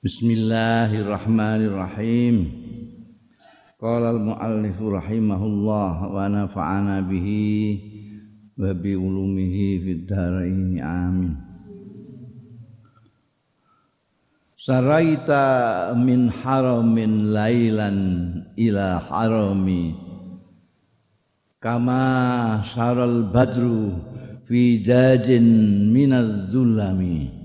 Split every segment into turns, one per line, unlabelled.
Bismillahirrahmanirrahim. Qala al-muallif rahimahullah wa nafa'ana bihi wa bi ulumihi fid dharain amin. Saraita min haramin lailan ila harami kama saral badru fi dajin minaz zulami.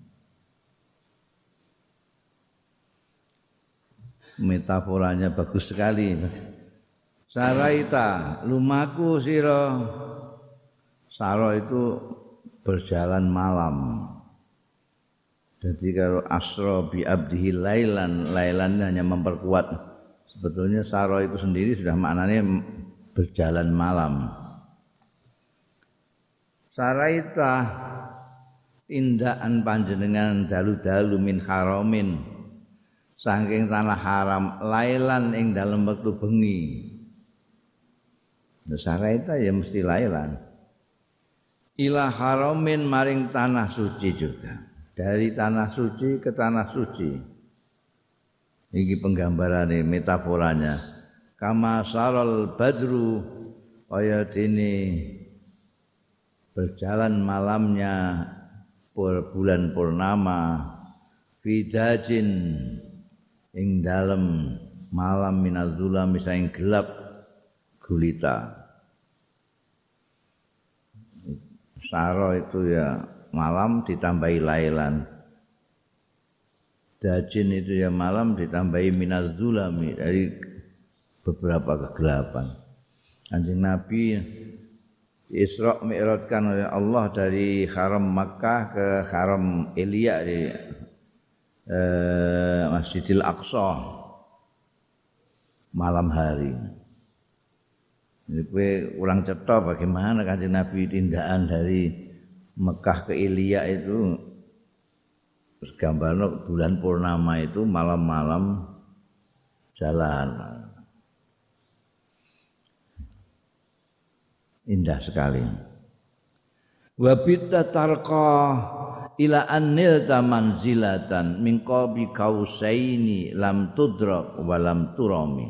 Metaforanya bagus sekali. Saraita lumaku sira. Saro itu berjalan malam. Jadi kalau asra bi abdihi lailan, lailan hanya memperkuat. Sebetulnya saro itu sendiri sudah maknanya berjalan malam. Saraita tindakan panjenengan dalu-dalu min haramin saking tanah haram lailan ing dalam waktu bengi. Saraita ya mesti lailan. Ila haramin maring tanah suci juga. Dari tanah suci ke tanah suci. Ini penggambarannya, metaforanya. Kama saral badru kaya dene berjalan malamnya bulan purnama fidajin ing dalem malam minazzulam saing gelap gulita. Saro itu ya malam ditambahi lailan. Dajin itu ya malam ditambahi minazzulami dari beberapa kegelapan. Kanjeng Nabi Isra Mi'rajkan oleh Allah dari Haram Makkah ke Haram Elia di Masjidil Aqsa malam hari. Jadi kowe kurang cetha bagaimana Kanjeng Nabi tindakan dari Mekah ke Ilya itu gambarno bulan purnama itu malam-malam jalan. Indah sekali. Wa bitta tarqa ila annil tamanzilatan min qabi kausaini lam tudrak wa lam turami.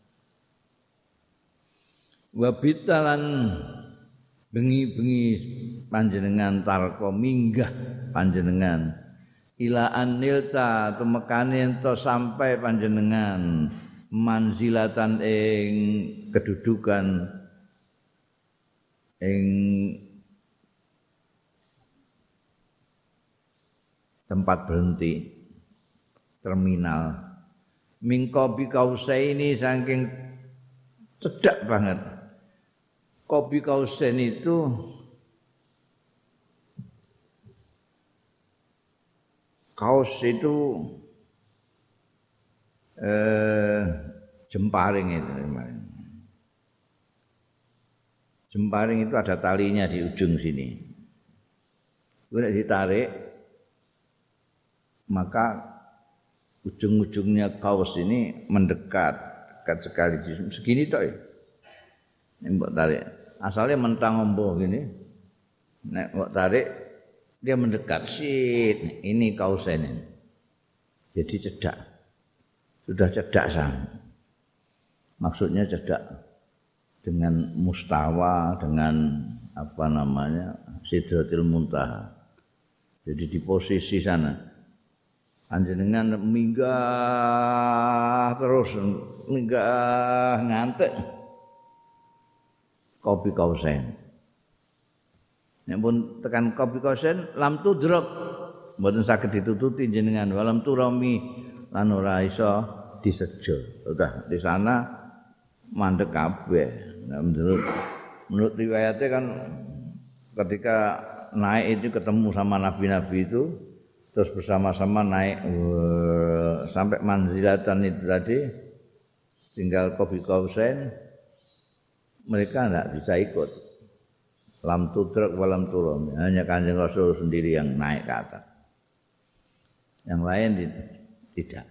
Wa bitalan bengi-bengi panjenengan tarqa minggah panjenengan ila annil ta temekane ento sampai panjenengan manzilatan ing kedudukan ing tempat berhenti terminal mingkobi kausaini saking cedak banget. Kobi kausain itu kaus itu jemparing itu. Jemparing itu ada talinya di ujung sini. Kalau ditarik maka ujung-ujungnya kaos ini mendekat sekali segini toh ya. Mbok tarik. Asalnya mentang ombo gini. Nek mbok tarik dia mendekat. Shit, ini kaosnya ini. Jadi cedak. Sudah cedak sang. Maksudnya cedak dengan mustawa, dengan apa namanya? Sidratil Muntaha. Jadi di posisi sana. Panjenengan minggah terus, minggah ngantek. Kopi kausen. Nek pun tekan kopi kausen lam tudrak mboten saged ditututi jenengan walam turami lan ora iso disejo. Udah di sana mandek kabeh. Nah, menurut riwayatnya kan ketika naik itu ketemu sama nabi-nabi itu terus bersama-sama naik sampai manzilatan itu tadi tinggal kopi kausen. Mereka tidak bisa ikut. Lam tudrak walam turam. Hanya Kanjeng Rasul sendiri yang naik ke atas. Yang lain tidak.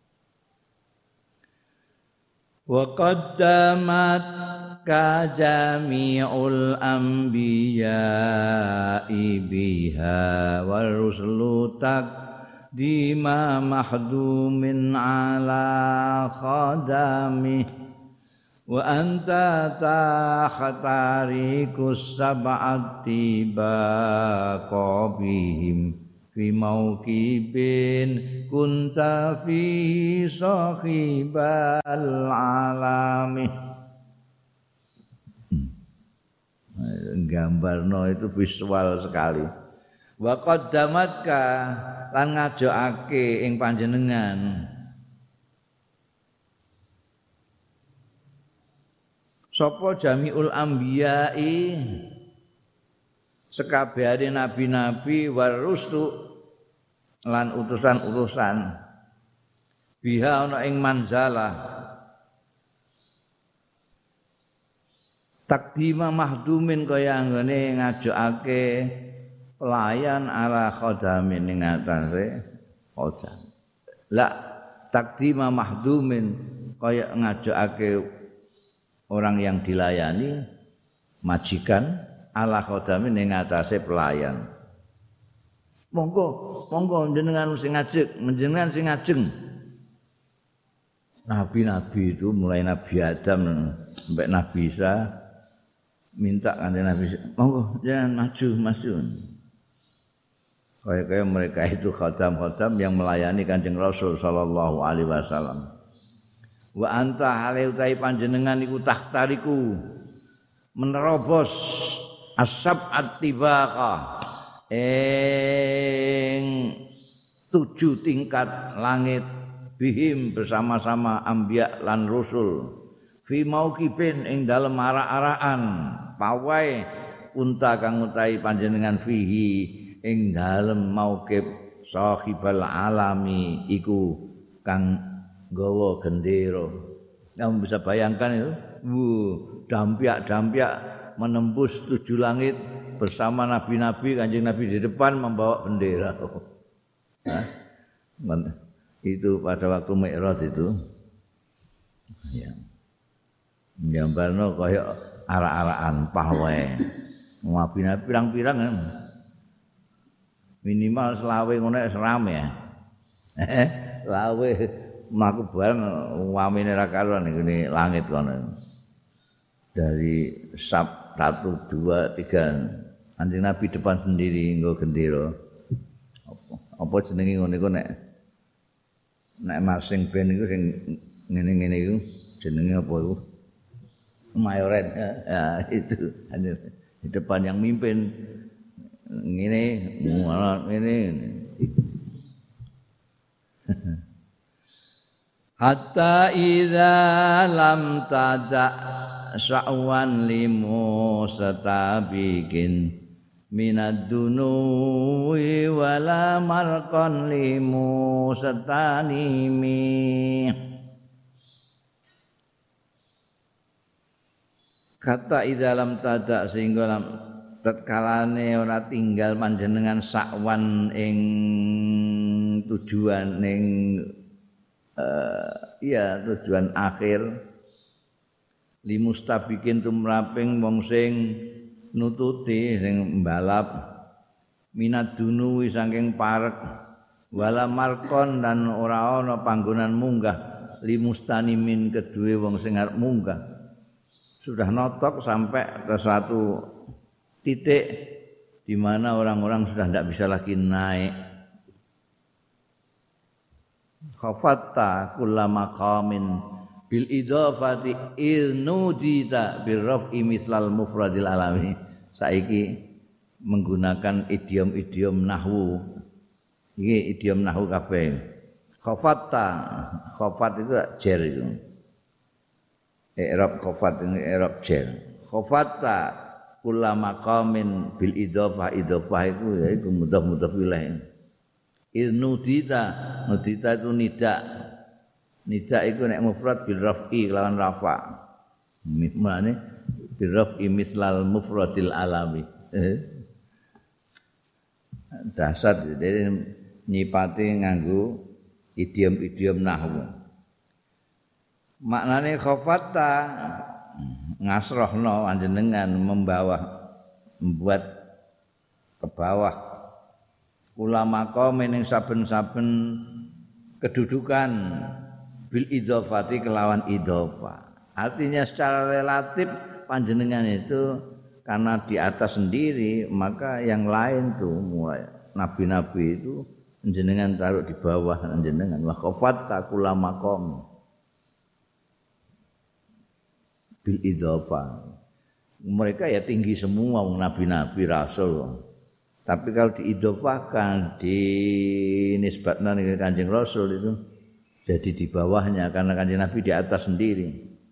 Wa qaddamat ka jami'ul anbiya'i biha wal rusulu dima mahdumin ala khadami wa anta takhtarikus sab'ati baqabihim fi mauqibin kunta fihi sahibal alami. Gambarno itu visual sekali. Wa qaddamatka lan ngajokake ing panjenengan sapa jamiul anbiya'i sekabehane nabi-nabi war rusulu lan utusan-utusan biha ana ing manzalah takdima mahdumin kaya anggone ngajokake pelayan ala khadamin ing atase khadam la takdima mahdumin kaya ngajokake orang yang dilayani majikan ala khadamin ing atase pelayan. Monggo jenengan sing ngajek, jenengan sing ngajeng. Nabi-nabi itu mulai Nabi Adam sampai Nabi Isa minta kanjeng Nabi, monggo jangan maju. Kayak mereka itu khadam-khadam yang melayani Kanjeng Rasul sallallahu alaihi wasallam. Wa anta hale utahi panjenengan iku takhtariku menerobos as-sab'at tibaqa ing 7 tingkat langit bihim bersama-sama anbiya lan rusul fi mauqibin ing dalem arak-arakan pawai unta kang utahi panjenengan fihi ing dalem mauqib sahibal alami iku kang gawa gendera. Kamu bisa bayangkan itu, dampiak-dampiak menembus 7 langit bersama nabi-nabi, Kanjeng Nabi di depan membawa bendera. Itu pada waktu Mi'raj itu. Ya. Gambarno kaya arak-arakan pahwae. Nabi-nabi pirang-pirang kan. Minimal selawe ngono wis rame ya. Selawe mlaku bareng wamine ra karuan ngene langit kono. Dari sab 1 2 3 Kanjeng Nabi depan sendiri nggo gendera. Apa jenenge ngono iku nek marching band iku sing ngene-ngene iku jenenge apa iku? Mayoret. Ya itu di depan yang mimpin ngene hatta idza lam tada sya'wan limu satabikin minad dunuwi wala marqan limu satanimi. Kata idza lam tada sehingga lam tatkalane ora tinggal panjenengan sakwan ing tujuan ing tujuan akhir limustabikin tumraping wong sing nututi sing mbalap minad dunuwi saking parek wala markon dan ora ana panggonan munggah limustanimin kedue wong sing arep munggah sudah notok sampai ke satu titik di mana orang-orang sudah tidak bisa lagi naik. Khafatta kulla maqamin bil idafati ilnudita bil raf'i mislal mufradil alami. Saiki menggunakan idiom-idiom nahwu. Iki idiom nahwu kabeh. Khafatta, khafat itu jer itu. I'rab khafat ini i'rab jer. Khafatta kulla maqamin bil idhafah itu yaitu mudhaf ilaih. Nudita itu nida itu nek mufrad bil raf'i lawan rafa. Maknane bil raf'i mislal mufradil alami. Dasar jadi nyipati nganggo idiom-idiom nahwu. Maknane khafatta ngasrohno panjenengan membuat ke bawah kula maqam ning saben-saben kedudukan bil idhofati kelawan idhofa. Artinya secara relatif panjenengan itu karena di atas sendiri, maka yang lain tuh mulai nabi-nabi itu jenengan taruh di bawah jenengan. Wa khafatta kula maqam bil idhofa. Mereka ya tinggi semua nabi-nabi rasul. Tapi kalau diidhofakan, dinisbatkan dengan Kanjeng Rasul itu jadi di bawahnya karena Kanjeng Nabi di atas sendiri.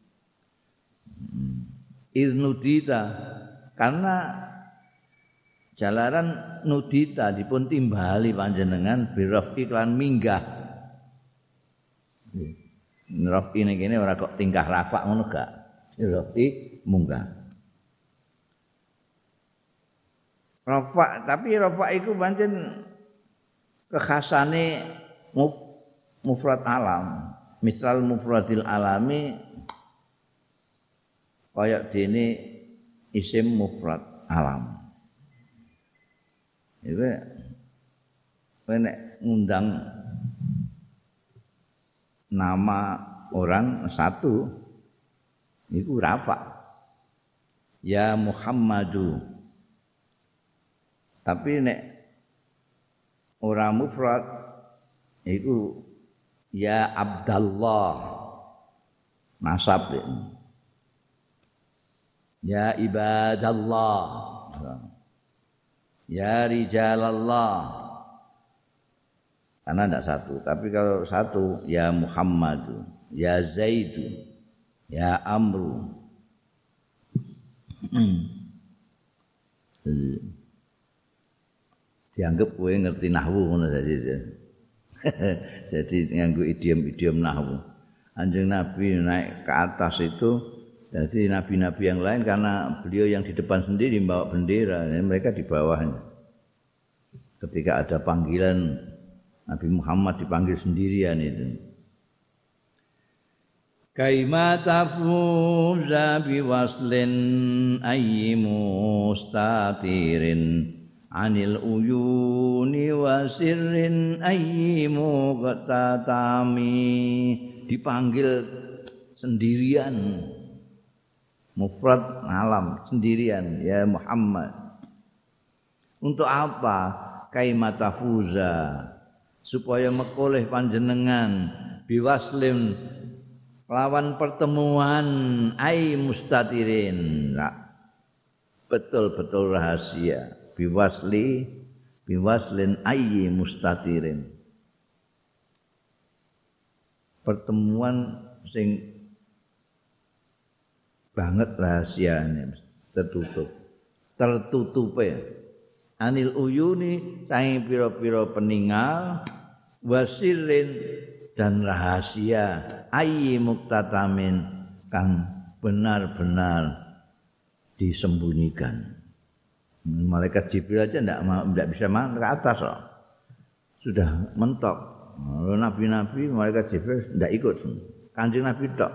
Idnudita karena jalaran nudita dipun timbali panjenengan birafki lan minggah. Rafki ini kene ora kok tingkah rafa ngono gak. Rafki munggah. Rafa, tapi rafa itu pancen kekhasane mufrad alam. Misal mufradil alami kaya dene isim mufrad alam. Itu nek ngundang nama orang satu itu rafa. Ya Muhammadu. Tapi nek ora mufrad iku ya Abdallah nasab ya ibadallah ya rijalallah karena tidak satu. Tapi kalau satu ya Muhammadu ya Zaidu ya Amru dianggap kowe ngerti nahwu ngono jadi nganggo idiom-idiom nahwu. Kanjeng Nabi naik ke atas itu jadi nabi-nabi yang lain karena beliau yang di depan sendiri membawa bendera, mereka di bawahnya. Ketika ada panggilan Nabi Muhammad dipanggil sendirian itu. Kaima tafuza biwaslin ayyimu statirin anil uyuni wa sirrin ayyimu qatatami, dipanggil sendirian, mufrad alam sendirian ya Muhammad. Untuk apa? Kaimatafuza, supaya mekoleh panjenengan biwaslin lawan pertemuan ai mustatirin, betul-betul rahasia. Biwaslin ayyi mustatirin, pertemuan sing banget rahasianya tertutupe anil uyuni saing pira-pira peninggal wasirin dan rahasia ayyi muktatamin kang benar-benar disembunyikan. Malaikat Jibril aja tidak bisa ke atas loh. Sudah mentok. Nabi-nabi malaikat Jibril tidak ikut. Kanjeng Nabi tok.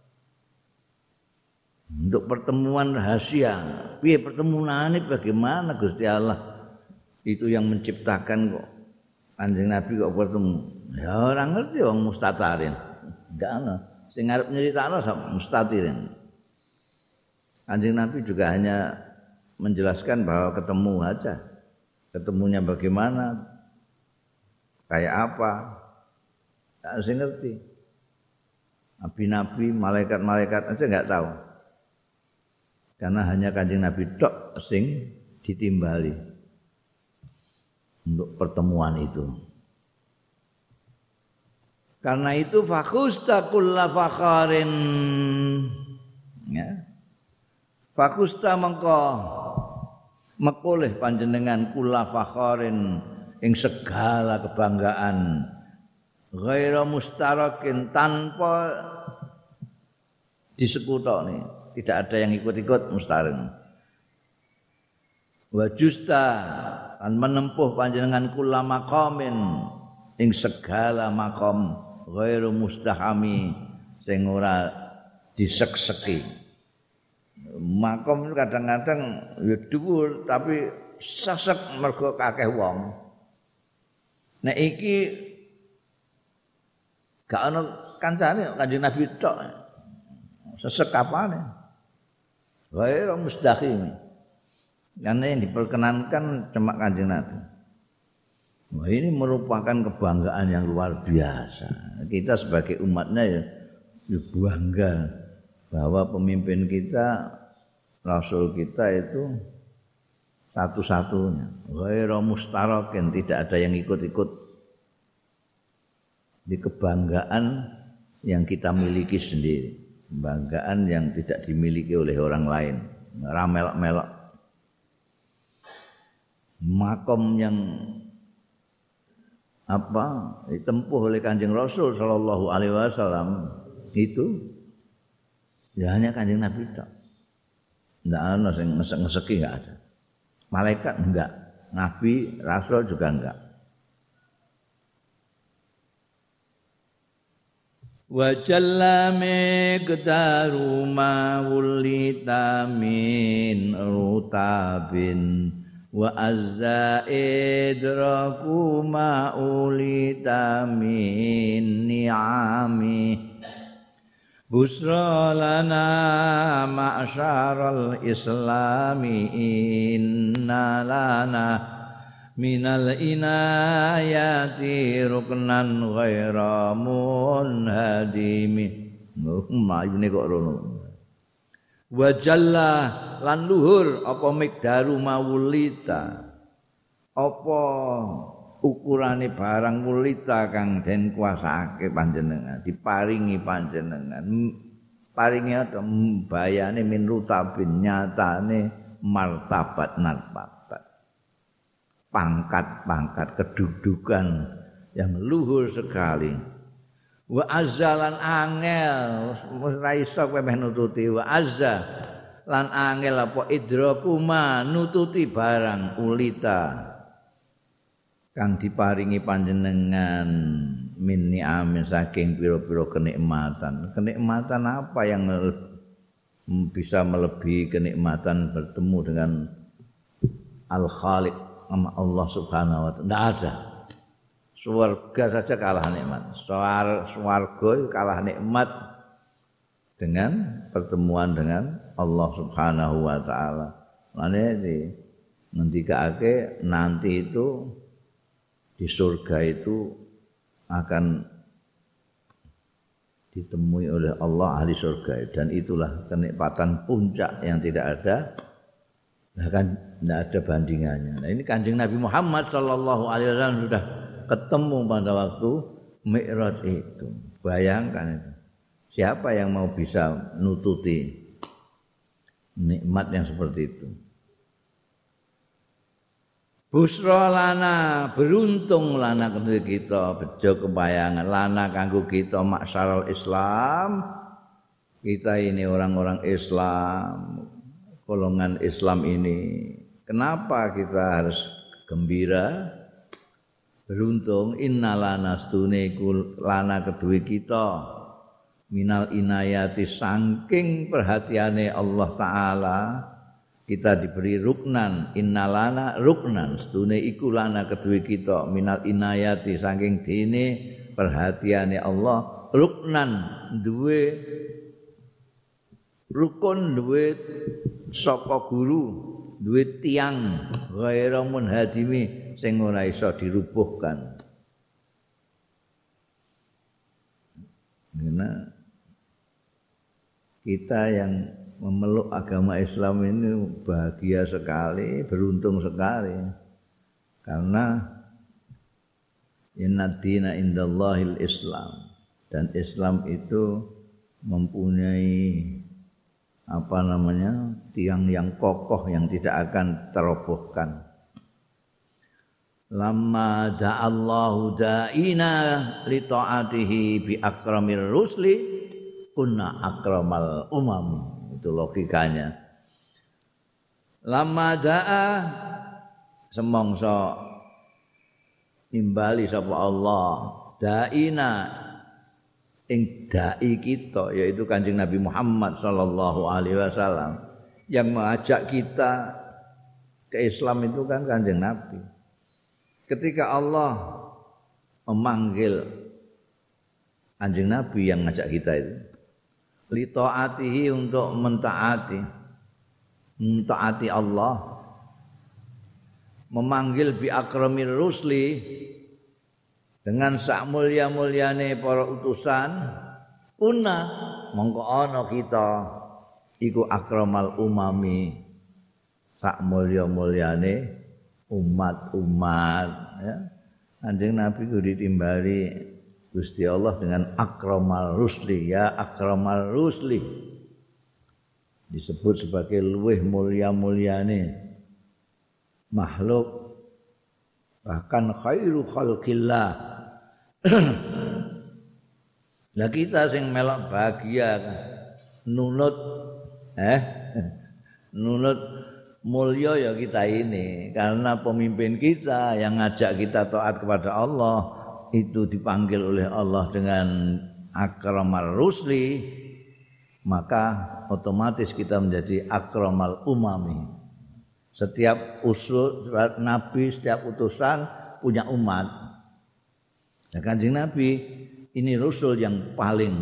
Untuk pertemuan rahasia. Piye pertemuan ini bagaimana Gusti Allah? Itu yang menciptakan kok. Kanjeng Nabi kok bertemu. Ya orang ngerti wong mustatarin. Enggak ana. Sing arep nyeritakno mustatirin. Kanjeng Nabi juga hanya menjelaskan bahwa ketemu aja. Ketemunya bagaimana? Kayak apa? Tak sih ngerti. Nabi-nabi, malaikat-malaikat aja enggak tahu. Karena hanya Kanjeng Nabi tok sing ditimbali untuk pertemuan itu. Karena itu fakhusta kulla fakharin, ya. Fakhusta mengko mekoleh panjenengan kulla fakharin ing segala kebanggaan ghaira mustarakin, tanpa disekutoni, tidak ada yang ikut-ikut mustarin. Wa justa kan menempuh panjenengan kulla maqamin ing segala maqam ghairu mustahami sing ora disekseki. Makom kadang-kadang ya dhuwur tapi sesek mergo akeh wong. Nek iki gak ana kancane Kanjeng Nabi tok. Sesekapane. Wae ora mustahil. Karena yang diperkenankan cuma Kanjeng Nabi. Wah, ini merupakan kebanggaan yang luar biasa. Kita sebagai umatnya ya bangga bahwa pemimpin kita, Rasul kita itu satu-satunya. Ghairu mustarakin, tidak ada yang ikut-ikut. Di kebanggaan yang kita miliki sendiri. Kebanggaan yang tidak dimiliki oleh orang lain. Ramelok-melok. Makom yang ditempuh oleh Kanjeng Rasul sallallahu alaihi wasallam itu ya hanya Kanjeng Nabi tok. Enggak ada sing ngesek-ngeseki, enggak ada. Malaikat enggak, nabi, rasul juga enggak. Wa jalla miqdaru ma wulita min rutabin wa azza idraku ma ulita min ni'ami busra lana ma'syaral islami inna lana minal inayati ruknan ghaira munhadimi mayune kok rono wa jalla lan luhur apa mikdaru mawulita apa ukurane barang wulita kang den kuasake panjenengan diparingi panjenengan paringi ada bayane min rutabin nyatane martabat nartabat pangkat-pangkat kedudukan yang luhur sekali wa azzalan angel ora iso kowe meh nututi wa azza lan angel apa idrakuma nututi barang ulita kang diparingi panjenengan min ni'amin saking pira-pira kenikmatan apa yang bisa melebihi kenikmatan bertemu dengan Al-Khaliq sama Allah Subhanahu wa taala. Tidak ada. Surga saja kalah nikmat. Swarga kalah nikmat dengan pertemuan dengan Allah Subhanahu wa taala. Mane ngendikake nanti itu di surga itu akan ditemui oleh Allah ahli surga dan itulah kenikmatan puncak yang tidak ada. Nah kan tidak ada bandingannya. Nah ini Kanjeng Nabi Muhammad sallallahu alaihi wasallam sudah ketemu pada waktu Mi'raj itu. Bayangkan itu. Siapa yang mau bisa nututi nikmat yang seperti itu? Busra lana, beruntung lana kedua kita, bejo kebayangan lana kanggo kita maksyaral Islam. Kita ini orang-orang Islam, golongan Islam ini. Kenapa kita harus gembira? Beruntung innalana stune iku lana kedue kita minal inayati saking perhatiane Allah taala kita diberi ruknan innalana ruknan stune iku lana kedue kita minal inayati saking dene perhatiane Allah ruknan duwe rukun duwe saka guru duwe tiang ghaira munhadimi sing ora iso dirubuhkan. Karena kita yang memeluk agama Islam ini bahagia sekali, beruntung sekali. Karena inna dina indallahil Islam dan Islam itu mempunyai tiang yang kokoh yang tidak akan terobohkan. Lamma da'allahu da'ina li ta'atihi bi akramir rusli kunna akramal umam. Itu logikanya. Lamma da'a semongso nimbali sapa Allah da'ina ing dai kita yaitu Kanjeng Nabi Muhammad sallallahu alaihi wasallam yang mengajak kita ke Islam itu kan Kanjeng Nabi. Ketika Allah memanggil Kanjeng Nabi yang ngajak kita itu li taatihi untuk mentaati Allah, memanggil bi akramir rusli dengan sak mulya-mulyane para utusan, una mongko ana kita iku akramal umami, sak mulya-mulyane umat-umat ya. Kanjeng Nabi ku ditimbali Gusti Allah dengan akramal rusli, ya akramal rusli, disebut sebagai luweh mulya-mulyane makhluk, bahkan khairu khalqillah. Lah kita sing melok bahagia nunut nunut mulya ya kita ini, karena pemimpin kita yang ngajak kita taat kepada Allah itu dipanggil oleh Allah dengan akramal rusli, maka otomatis kita menjadi akramal umami. Setiap nabi, setiap utusan punya umat. Nah, Kanjeng Nabi ini rasul yang paling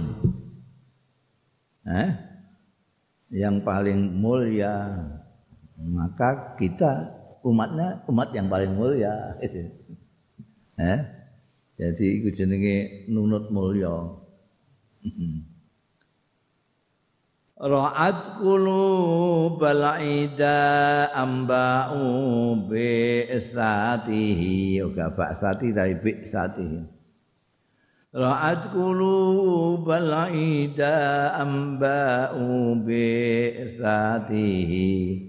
yang paling mulia, maka kita umatnya umat yang paling mulia. Jadi iku jenenge nunut mulya. Ra'at qulubal ida amba'u bi istatihi, ora ba'sati tapi bi istatihi. Ra'at qulubal ida amba'u bi istatihi,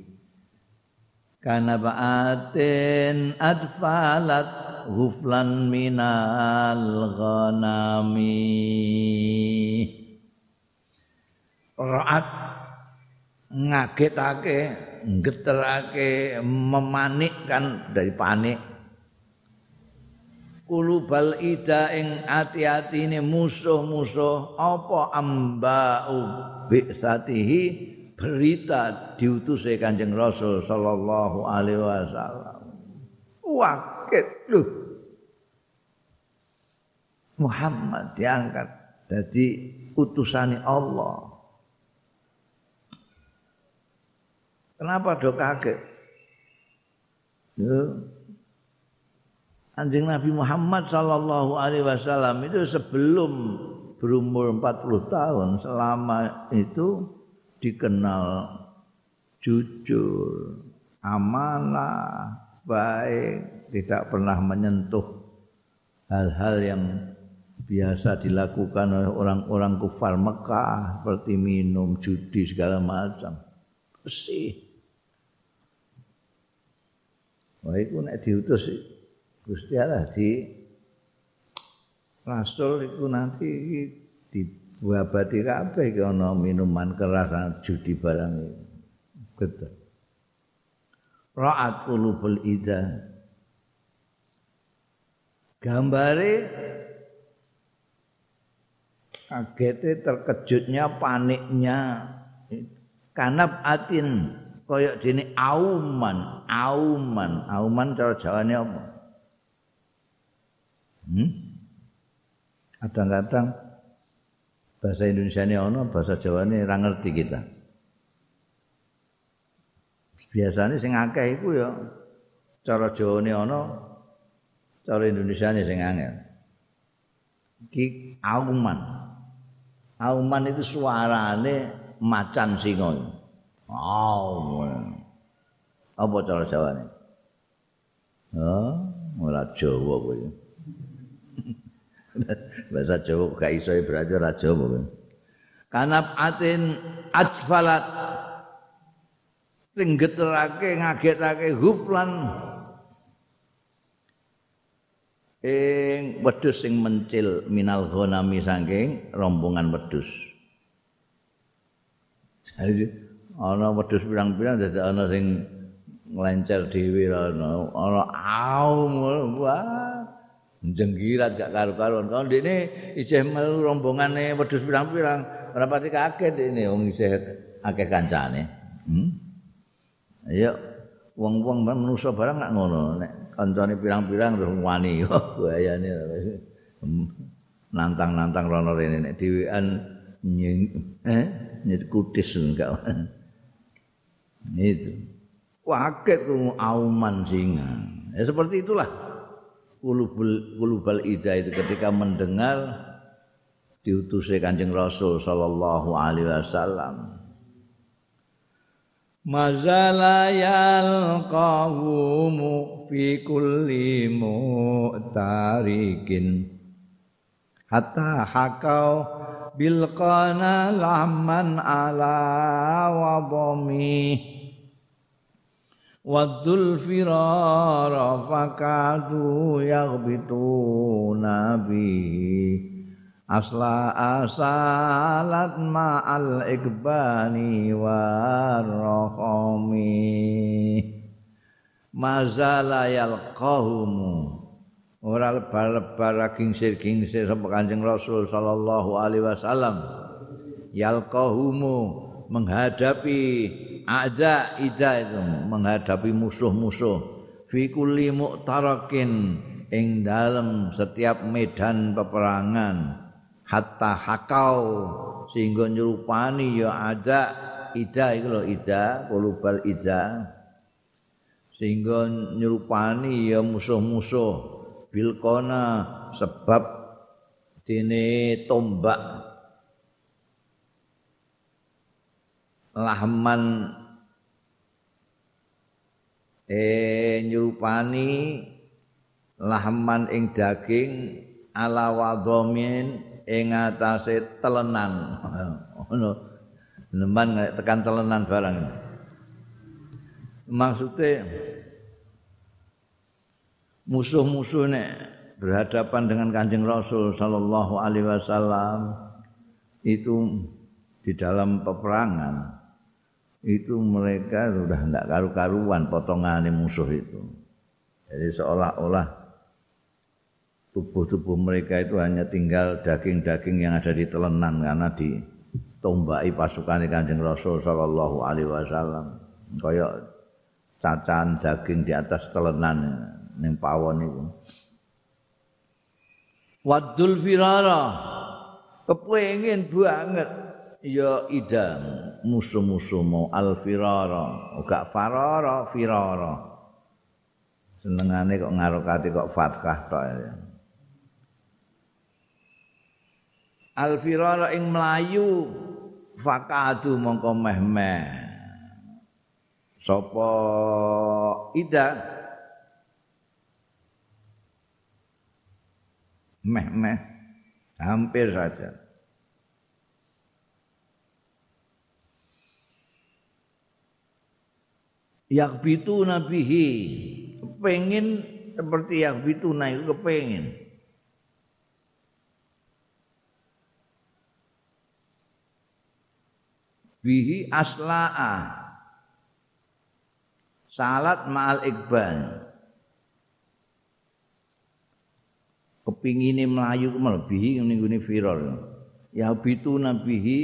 kana ba'atin adfalat ghuflan minal ghanami. Ra'at ngagetake, nggeterake, memanikkan dari panik. Kulubal ida ing ati-atine musuh-musuh apa amba'u bi'satihi, berita diutusé Kanjeng Rasul sallallahu alaihi wasallam. Waket loh, Muhammad diangkat jadi utusane Allah. Kenapa do kaget? Kanjeng Nabi Muhammad sallallahu alaihi wasallam itu sebelum berumur 40 tahun, selama itu dikenal jujur, amanah, baik, tidak pernah menyentuh hal-hal yang biasa dilakukan oleh orang-orang kufar Mekah seperti minum, judi segala macam. Bersih. Wah iku nek diutus Gusti Allah di Rasul iku nanti dibuabati kabeh iki ana minuman keras, judi barang iki. Betul. Ra'at qulubul ida, gambare kagete, terkejutnya, paniknya, kanab atin kaya dene auman cara Jawane apa? Kadang-kadang bahasa Indonesiane ana, bahasa Jawane ora ngerti kita. Biasanya sing akeh iku ya cara Jawane ana, cara Indonesiane sing angel. Iki auman. Auman itu suarane macan singa. Auman. Apa cara Jawane? Ora Jawa kowe. Bahasa Jawa gak iso berarti ora Jawa kowe. Kanap atin ajfalat, sing geterake, ngagetake huflan ing wedhus sing mencil minal ghanami saking rombongan wedhus. Jadi ana wedhus pirang-pirang dadi ana sing nglencer dhewe ana aum wah jenggirat gak karo-karuan. Kalau dene isih melu rombongane wedhus pirang-pirang ora pati kaget dene wong isih akeh kancane. Ayo wong-wong manusa barang gak ngono. Nek kancane pirang-pirang terus wani bahayane. Nantang-nantang rono rene nek dhewean kutis enggak. Itu. Waket auman singa. Ya seperti itulah kulubal ida itu ketika mendengar diutusnya Kanjeng Rasul sallallahu alaihi wasallam. Mazala yalqahumu fi kulli mu'tarikin hatta hakau bilqana lahman ala wadami waddul firara fakadu yaghbituna bihi asla asalat ma'al ikbani warrohomi mazala yalqahumu ora lebar-lebar gingsir-gingsir sapa Kanjeng Rasul sallallahu alaihi wasallam yalqahumu menghadapi ida itu menghadapi musuh-musuh fi kulli mu'tarakin ing dalem setiap medan peperangan hatta hakau sehingga nyerupani ya ada ida iku lho ida kulubal ida sehingga nyerupani ya musuh-musuh bilqona sebab dene tombak lahman nyerupani lahman ing daging ala wadhamin ing atase telenan ngono neman tekan telenan barang maksudnya musuh-musuh nek berhadapan dengan Kanjeng Rasul sallallahu alaihi wasallam itu di dalam peperangan itu mereka sudah tidak karu-karuan potongan musuh itu. Jadi seolah-olah tubuh-tubuh mereka itu hanya tinggal daging-daging yang ada di telenan karena ditombaki pasukan Kanjeng Rasul sallallahu alaihi wasallam. Kayak cacahan daging di atas telenan ning pawon itu. Waddul firara kepengin banget ya idam musuh-musuh mau al firara gak farara firara senengane kok ngarokati kok fathah tok ya al firara ing mlayu fakadu mongko meh-meh sapa ida meh-meh hampir saja yakbitu nabihi kepengin seperti yakbitu na itu kepengin bihi aslaa salat ma'al ikban kepingine melayu melebihi ning gone viral yakbitu nabihi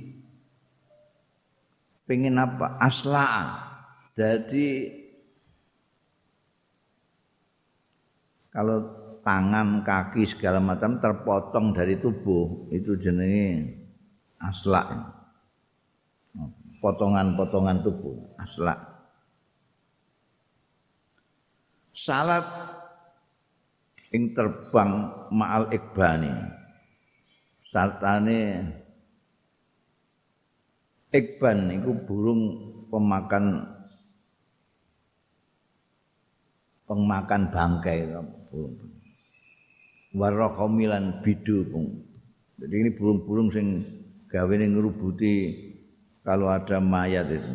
pengen apa aslaa. Jadi kalau tangan, kaki segala macam terpotong dari tubuh itu jenenge aslak. Potongan-potongan tubuh, aslak. Salat ing terbang ma'al ikbani. Sartane ikban iku burung pemakan bangkai warrohomilan bidu. Jadi ini burung-burung sing gawe ngrubuti kalau ada mayat itu.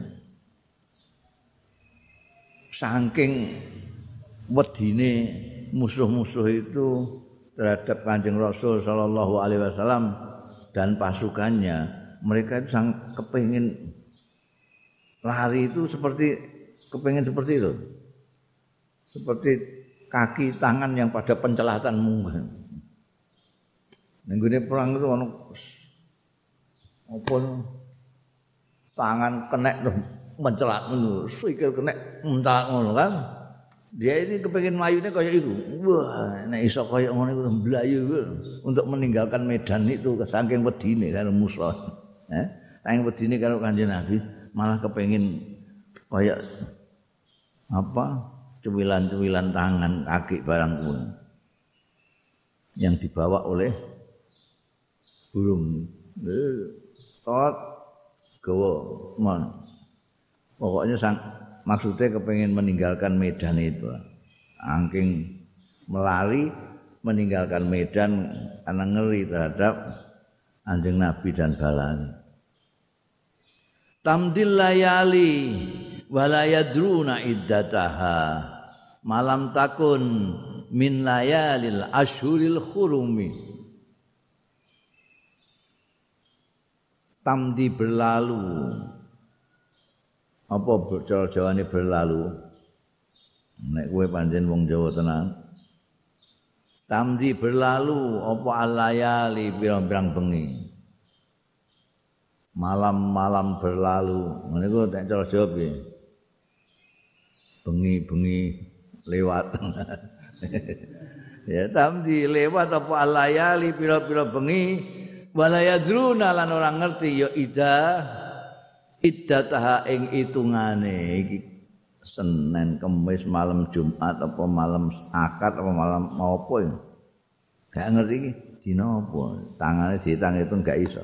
Saking wedine musuh-musuh itu terhadap Kanjeng Rasul sallallahu alaihi wasallam dan pasukannya, mereka itu sangat kepengin lari itu kepengin seperti itu. Seperti kaki tangan yang pada pencelatan munggah. Nenggone perang itu ono apa tangan kenek mencelat ngono, sikil kena mencelat ngono kan. Dia ini kepengin mlayune kaya iku. Wah, nek iso kaya ngono iku mblayu untuk meninggalkan medan itu saking wedine karo musuh. Saking wedine karo Kanjeng Nabi malah kepengin kaya apa? Cuwilan-cuwilan tangan, kaki barang kuwi. Yang dibawa oleh burung. Tot gawa mon. Pokoknya maksudnya kepengin meninggalkan medan itu, angking melari meninggalkan medan karena ngeri terhadap Kanjeng Nabi dan balane. Tamdil layali wala yadruna iddataha malam takun min layalil ashuril khurumi. Tamdi berlalu. Apa cara Jawane berlalu? Nek kowe pancen wong Jawa tenan. Tamdi berlalu apa alayali pirang-pirang bengi. Malam-malam berlalu. Ngene ku nek cara Jawa piye? Bengi-bengi lewat. Ya tamdi lewat apa alayali pira-pira bengi wala yadruna lan ora ngerti ya iddataha ing itungane iki Senin, Kamis, malam Jumat apa malam Ahad apa malam apa ya. Gak ngerti iki dina apa. Tangane dihitung gak iso.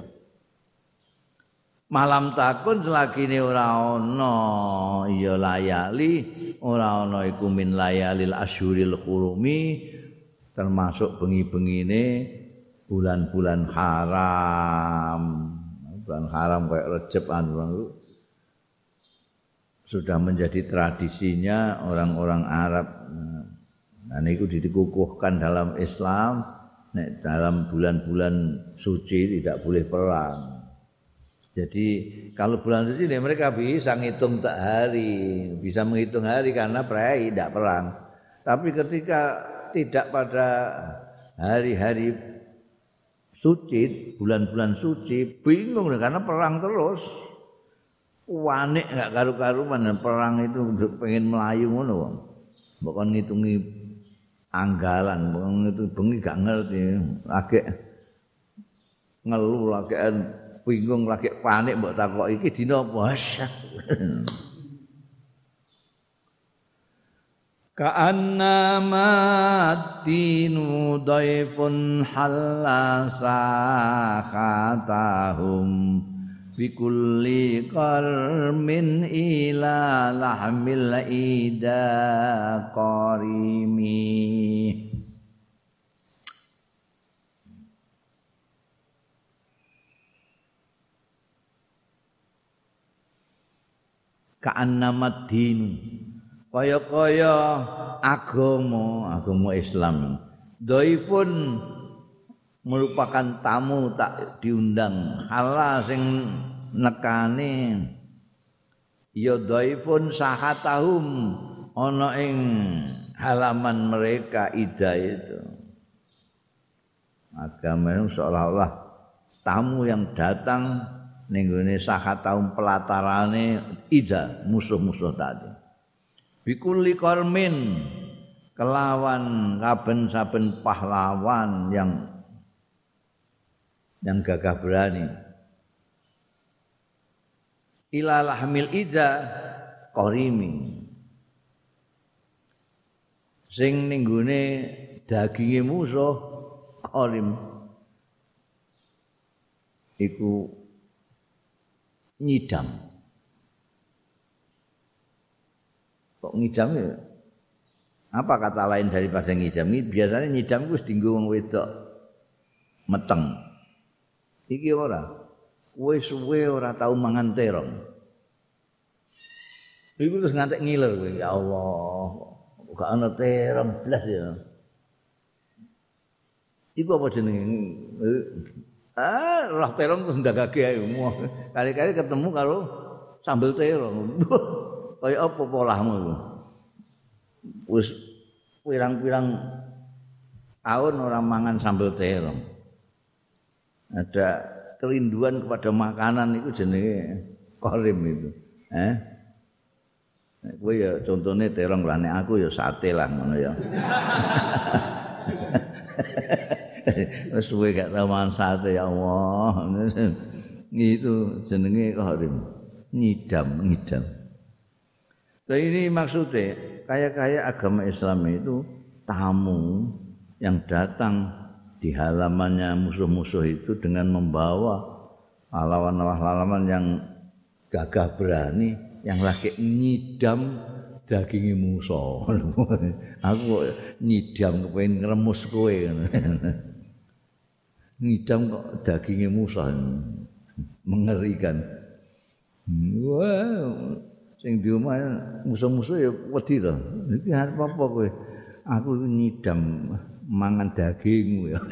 Malam takun selagine ora ana ya layali, ora ana iku min layalil asyuril hurumi termasuk bengi-bengine bulan-bulan haram. Bulan haram kayak Rejab anu sudah menjadi tradisinya orang-orang Arab. Nah niku dikukuhkan dalam Islam, nek dalam bulan-bulan suci tidak boleh perang. Jadi kalau bulan suci mereka bisa ngitung tak hari, bisa menghitung hari karena prei tidak perang. Tapi ketika tidak pada hari-hari suci, bulan-bulan suci, bingung karena perang terus. Wanik enggak karu-karuan perang itu pengen melayu ngono wong. Mbok kon ngitungi anggalan, wong itu bengi gak ngerti, lagi ngeluh lagi bingung lagi panik mbok takoki iki dina apa? Ka'annama dinu daifun halasa khatahum bikulli qarmin ila lahmil ida qarimi. Ka'annama dinu kaya-kaya agama Islam dhaifun merupakan tamu tak diundang hala sing nekane ya dhaifun sahatahum ana ing halaman mereka ida itu agama itu seolah-olah tamu yang datang ning gone sahatahum pelatarane ida musuh-musuh tadi bikulli qarmin kelawan saben pahlawan yang gagah berani ila lahmil ida qarimi sing ning gone daginge musuh qarim iku nyidam. Kok ngidam ya? Apa kata lain daripada ngidam? Biasanya ngidam itu dienggo wong wedok meteng. Iki ora. Kowe suwe ora tau mangan terong. Iku terus ngantek ngiler kowe. Ya Allah, gak ana terong blas ya. Iku apa jenenge? Roh terong terus ndagake ae. Kali-kali ketemu karo sambel terong. Kaya apa polahmu iku? Wis pirang-pirang tahun ora mangan sambel terong. Ada kerinduan kepada makanan itu jenenge qarim itu. Kowe ya contone terong lah nek aku ya sate lah ngono ya. Wis suwe gak tau mangan sate ya Allah. Itu jenenge qarim. Ngidam. Nah ini maksudnya kayak agama Islam itu tamu yang datang di halamannya musuh-musuh itu dengan membawa lawan-lawan yang gagah berani yang lagi nyidam dagingi musuh. Aku nyidam kepengin ngremus kowe. Nyidam kok dagingi musuh. Mengerikan. Wah, sing di omah musuh-musuh ya wedi to. Iki arep apa kowe? Aku nyidam mangan dagingmu ya.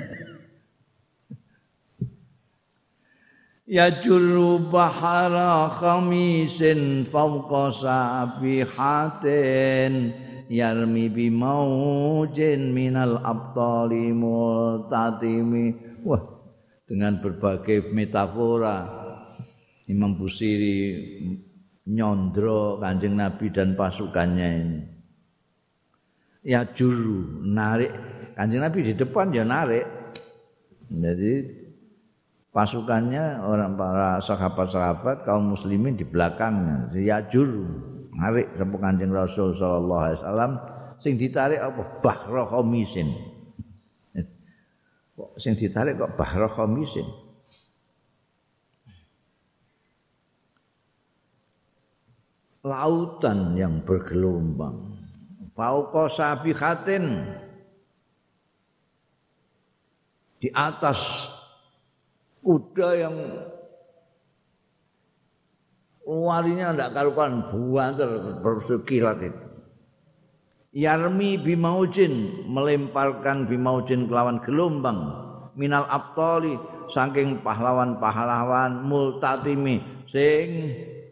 Ya juru bahara khamisin fawqa sabihatin yarmi bimaujin minal abtali multatimi. Wah, dengan berbagai metafora Imam Busiri nyondro Kanjeng Nabi dan pasukannya ini. Ya juru narik Kanjeng Nabi di depan ya narik. Jadi pasukannya orang para sahabat-sahabat kaum muslimin di belakangnya. Ya juru narik sapa Kanjeng Rasul sallallahu alaihi wasallam sing ditarik apa bahra khamisin. Kok sing ditarik kok bahra khamisin. Lautan yang bergelombang. Fauqa sabihatin di atas kuda yang larinya tidak karuan buanter bersekilat itu. Yarmi bimaujin melemparkan bimaujin kelawan gelombang minal abtali saking pahlawan-pahlawan multatimi sing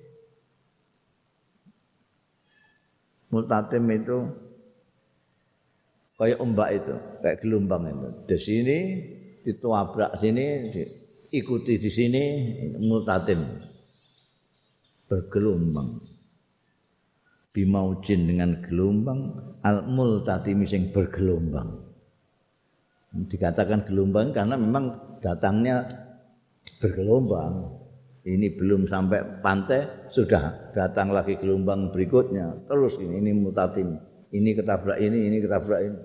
multatim itu kayak ombak itu, kayak gelombang itu. Di sini dituabrak sini, ikuti di sini multatim bergelombang. Bimaujin dengan gelombang, al multatimi sing bergelombang. Dikatakan gelombang karena memang datangnya bergelombang. Ini belum sampai pantai sudah datang lagi gelombang berikutnya. Terus ini multatim. Ini ketabrak ini ketabrak ini.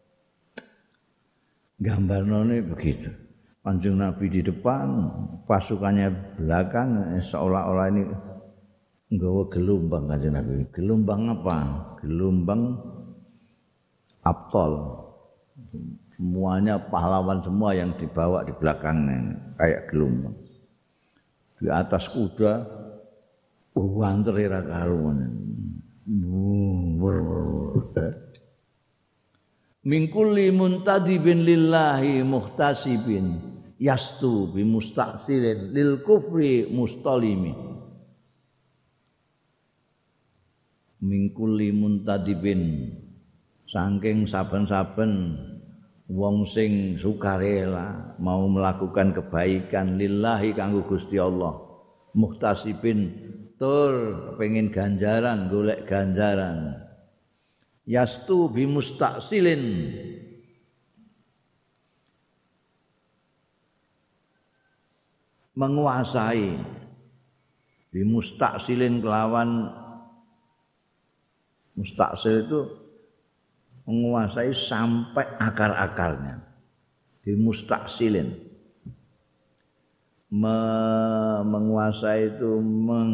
Gambarnya begitu. Kanjeng Nabi di depan, pasukannya belakang, seolah-olah ini nggawa gelombang Kanjeng Nabi. Gelombang apa? Gelombang abtol. Semuanya pahlawan semua yang dibawa di belakangnya kayak gelombang. Di atas kuda wanter ra karuan. Min kulli muntadibin lillahi muhtasibin yastu bi mustaqsilin lil kufri mustalimi. Min kulli muntadibin saking saben-saben wong sing sukarela mau melakukan kebaikan lillahi kanggo Gusti Allah muhtasibin tur pengen ganjaran golek ganjaran yastu bi mustaqsilin menguasai bi mustaqsilin kelawan mustaqsil itu menguasai sampai akar-akarnya di mustaqsilin menguasai itu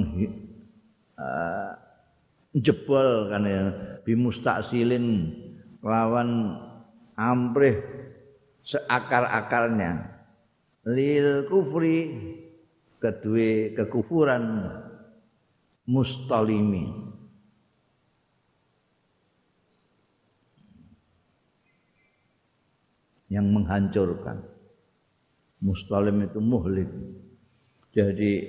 jebol kan ya bi mustaqsilin lawan amrih seakar-akarnya lil kufri kedue kekufuran mustalimi yang menghancurkan. Mustalim itu muhlik. Jadi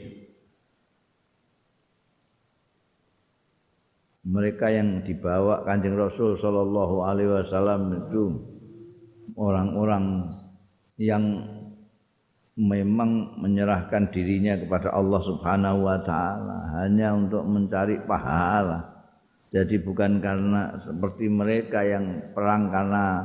mereka yang dibawa Kanjeng Rasul sallallahu alaihi wasallam itu orang-orang yang memang menyerahkan dirinya kepada Allah Subhanahu wa taala hanya untuk mencari pahala, Jadi bukan karena seperti mereka yang perang karena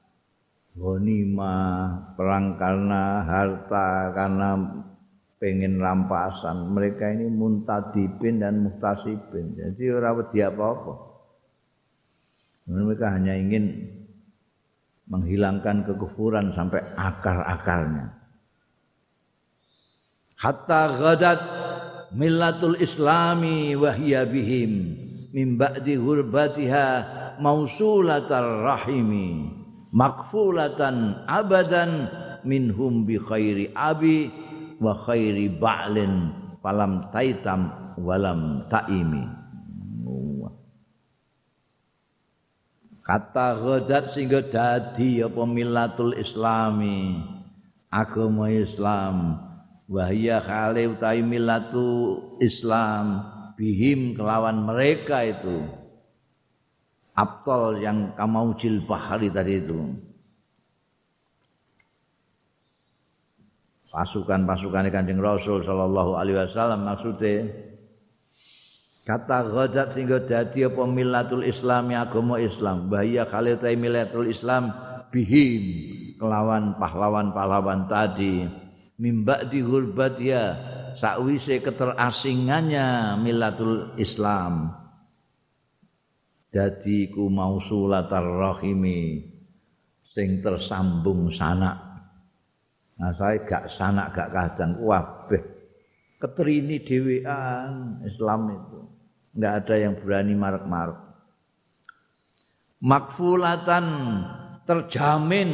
ghanimah, perang karena harta, karena pengen rampasan. Mereka ini muntadibin dan muhtasibin. Jadi ora wedi apa-apa. Mereka hanya ingin menghilangkan kekufuran sampai akar-akarnya. Hatta ghadat millatul islami wa hiya bihim min ba'di ghurbatiha mausulatar rahimi makfulatan abadan minhum bi khairi abi wa khairi ba'lin falam taitam walam taimi. Kata ghadat sehingga dadi apa millatul islami, agama Islam, wahya khali utawi millatu Islam bihim kelawan mereka itu abtal yang kamaujil bahari tadi itu, pasukan-pasukan Kanjeng Rasul sallallahu alaihi wasallam. Maksudnya kata ghadat sehingga dadi apa millatul Islam agama Islam, bahaya khali utawi millatul Islam bihim kelawan pahlawan-pahlawan tadi, mimba di ghurbatia sakwise keterasingannya millatul Islam dadi ku mausulatar rahimi sing tersambung sanak. Nah saya gak sanak gak kadang kabeh keterini dhewean Islam itu. Enggak ada yang berani marek-marek. Makfulatan terjamin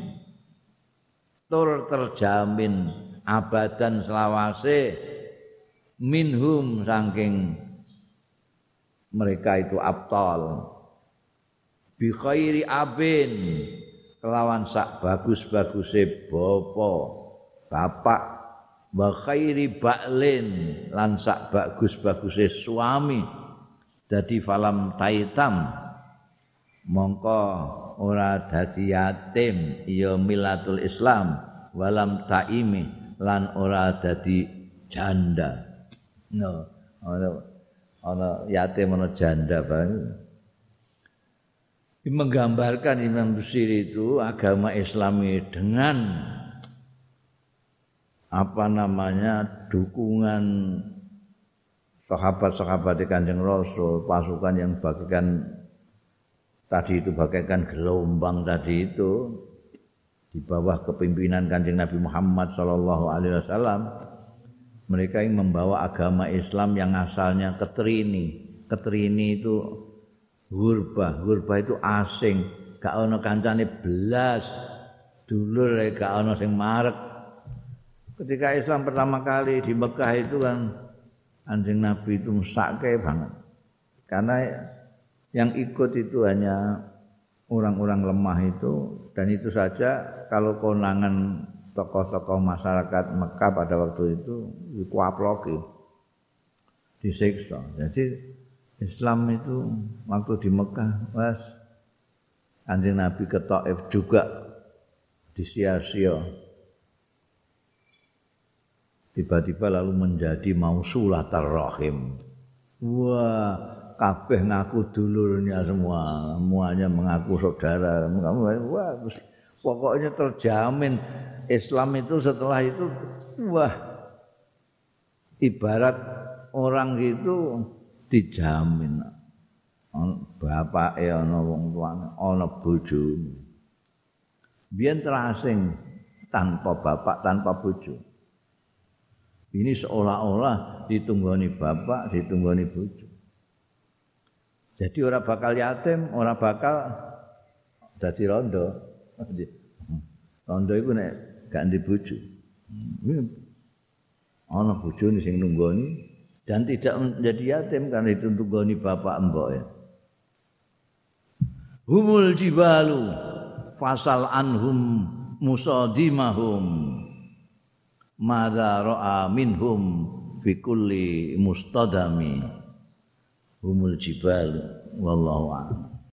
terjamin abadan selawase minhum saking mereka itu abtal bi khairi abin kelawan sak bagus-baguse bapak wa khairi ba'lin lan sak bagus-baguse suami dadi falam taitam mongko ora dadi yatim ya millatul Islam walam taimi lan ora dadi janda. No, ana yatim ana janda bareng. Menggambarkan Imam Busiri itu agama Islami dengan apa namanya dukungan sahabat-sahabat Kanjeng Rasul, pasukan yang bagikan tadi itu bagaikan gelombang tadi itu di bawah kepimpinan Kanjeng Nabi Muhammad sallallahu alaihi wasallam. Mereka yang membawa agama Islam yang asalnya keterini. Keterini itu ghurba itu asing, gak ono kancane belas. Dulur gak ono sing marek. Ketika Islam pertama kali di Mekah itu kan Kanjeng Nabi itu mesake banget. Karena yang ikut itu hanya orang-orang lemah itu, dan itu saja kalau konangan tokoh-tokoh masyarakat Mekah pada waktu itu dikuaploki, disiksa. Jadi Islam itu waktu di Mekah, Kanjeng Nabi ke Taif juga disia-sia. Tiba-tiba lalu menjadi mausulatar rahim. Wah, kabeh ngaku dulurnya semua, semuanya mengaku saudara. Wah, pokoknya terjamin Islam itu setelah itu, wah, ibarat orang itu dijamin. Bapake ana wong tuane, ana bojone. Biyen terasing tanpa bapak, tanpa bojo. Ini seolah-olah ditunggoni bapak, ditunggoni bojo. Jadi ora bakal yatim, ora bakal dadi rondo. Rondo iku nek gak ndek bojo. Ana bojone sing nunggoni dan tidak menjadi yatim karena itu tunggoni bapak mbok ya. Humul jibalu fasal anhum musadimahum madza ra'a minhum fi kulli mustadami. Humul jibalu wallahu a'lam.